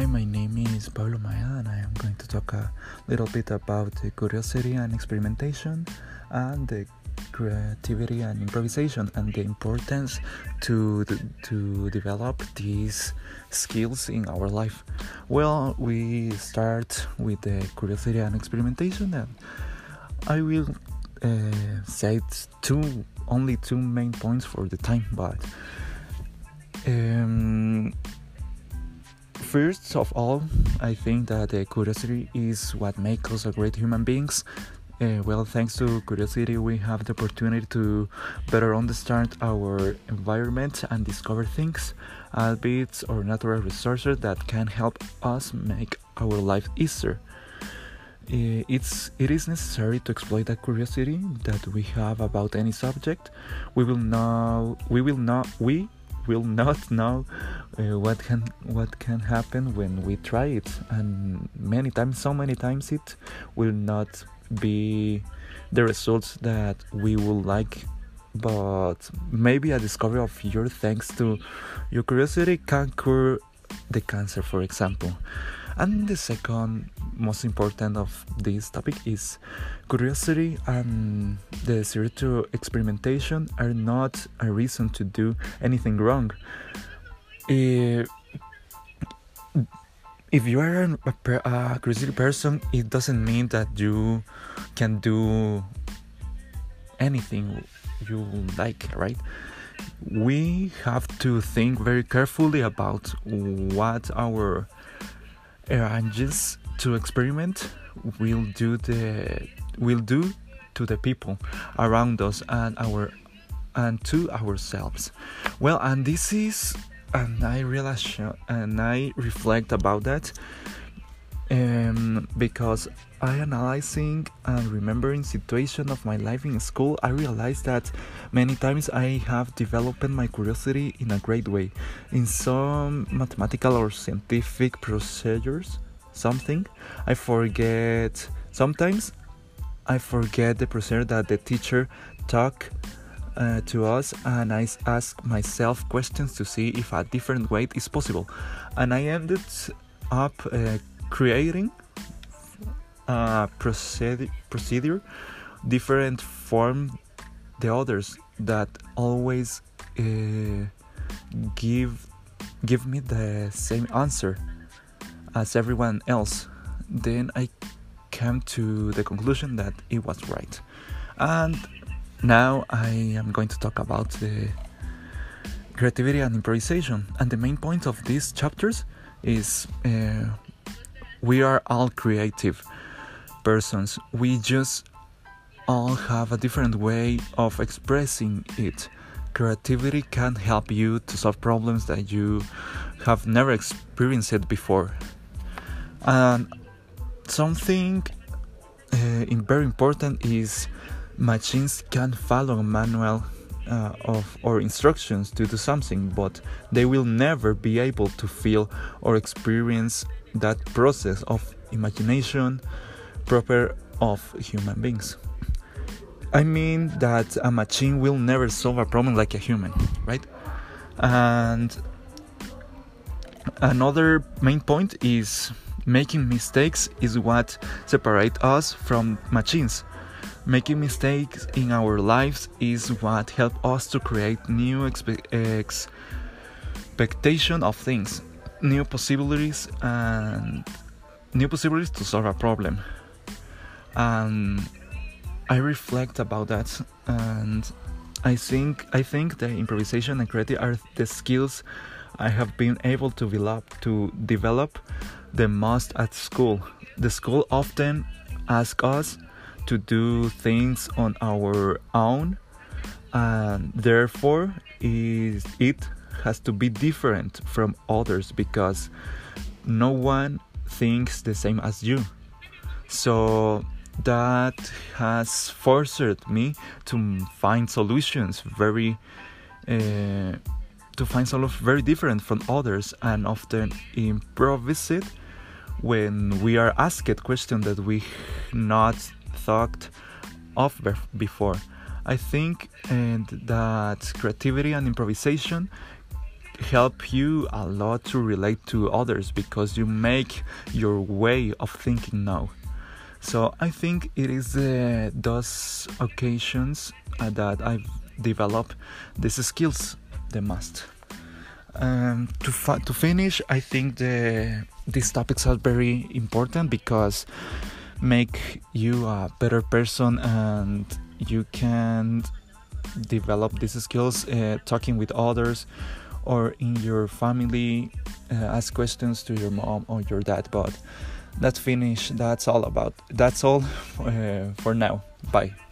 my name is Pablo Maya, and I am going to talk a little bit about the curiosity and experimentation, and the creativity and improvisation, and the importance to develop these skills in our life. Well, we start with the curiosity and experimentation, and I will say only two main points for the time, but first of all, I think that curiosity is what makes us a great human beings. Thanks to curiosity, we have the opportunity to better understand our environment and discover things, habits, or natural resources that can help us make our life easier. It is necessary to exploit that curiosity that we have about any subject. We will not know what can happen when we try it, and so many times it will not be the results that we would like, but maybe a discovery of your thanks to your curiosity can cure the cancer, for example. And the second most important of this topic is curiosity and the desire to experimentation are not a reason to do anything wrong. If you are a curiosity person, it doesn't mean that you can do anything you like, right? We have to think very carefully about what our urges to experiment will do to the people around us and to ourselves. Well, and this is, and I realize and I reflect about that, because I analyzing and remembering situation of my life in school, I realized that many times I have developed my curiosity in a great way. In some mathematical or scientific procedures, sometimes I forget the procedure that the teacher taught to us, and I ask myself questions to see if a different way is possible, and I ended up creating a procedure different from the others that always give me the same answer as everyone else. Then I came to the conclusion that it was right. And now I am going to talk about the creativity and improvisation. And the main point of these chapters is we are all creative persons. We just all have a different way of expressing it. Creativity can help you to solve problems that you have never experienced before. And something very important is machines can follow a manual or instructions to do something, but they will never be able to feel or experience that process of imagination proper of human beings. I mean that a machine will never solve a problem like a human, right? And another main point is making mistakes is what separates us from machines. Making mistakes in our lives is what helps us to create new expectation of things, new possibilities to solve a problem. And I reflect about that, and I think the improvisation and creativity are the skills I have been able to develop the most at school. The school often asks us to do things on our own, and therefore it has to be different from others because no one thinks the same as you. So that has forced me to find solutions very different from others, and often improvise it when we are asked questions that we not thought of before. I think that creativity and improvisation help you a lot to relate to others because you make your way of thinking now. So I think it is those occasions that I've developed these skills the most. To finish, I think these topics are very important because make you a better person, and you can develop these skills talking with others or in your family, ask questions to your mom or your dad. But that's all for now. Bye.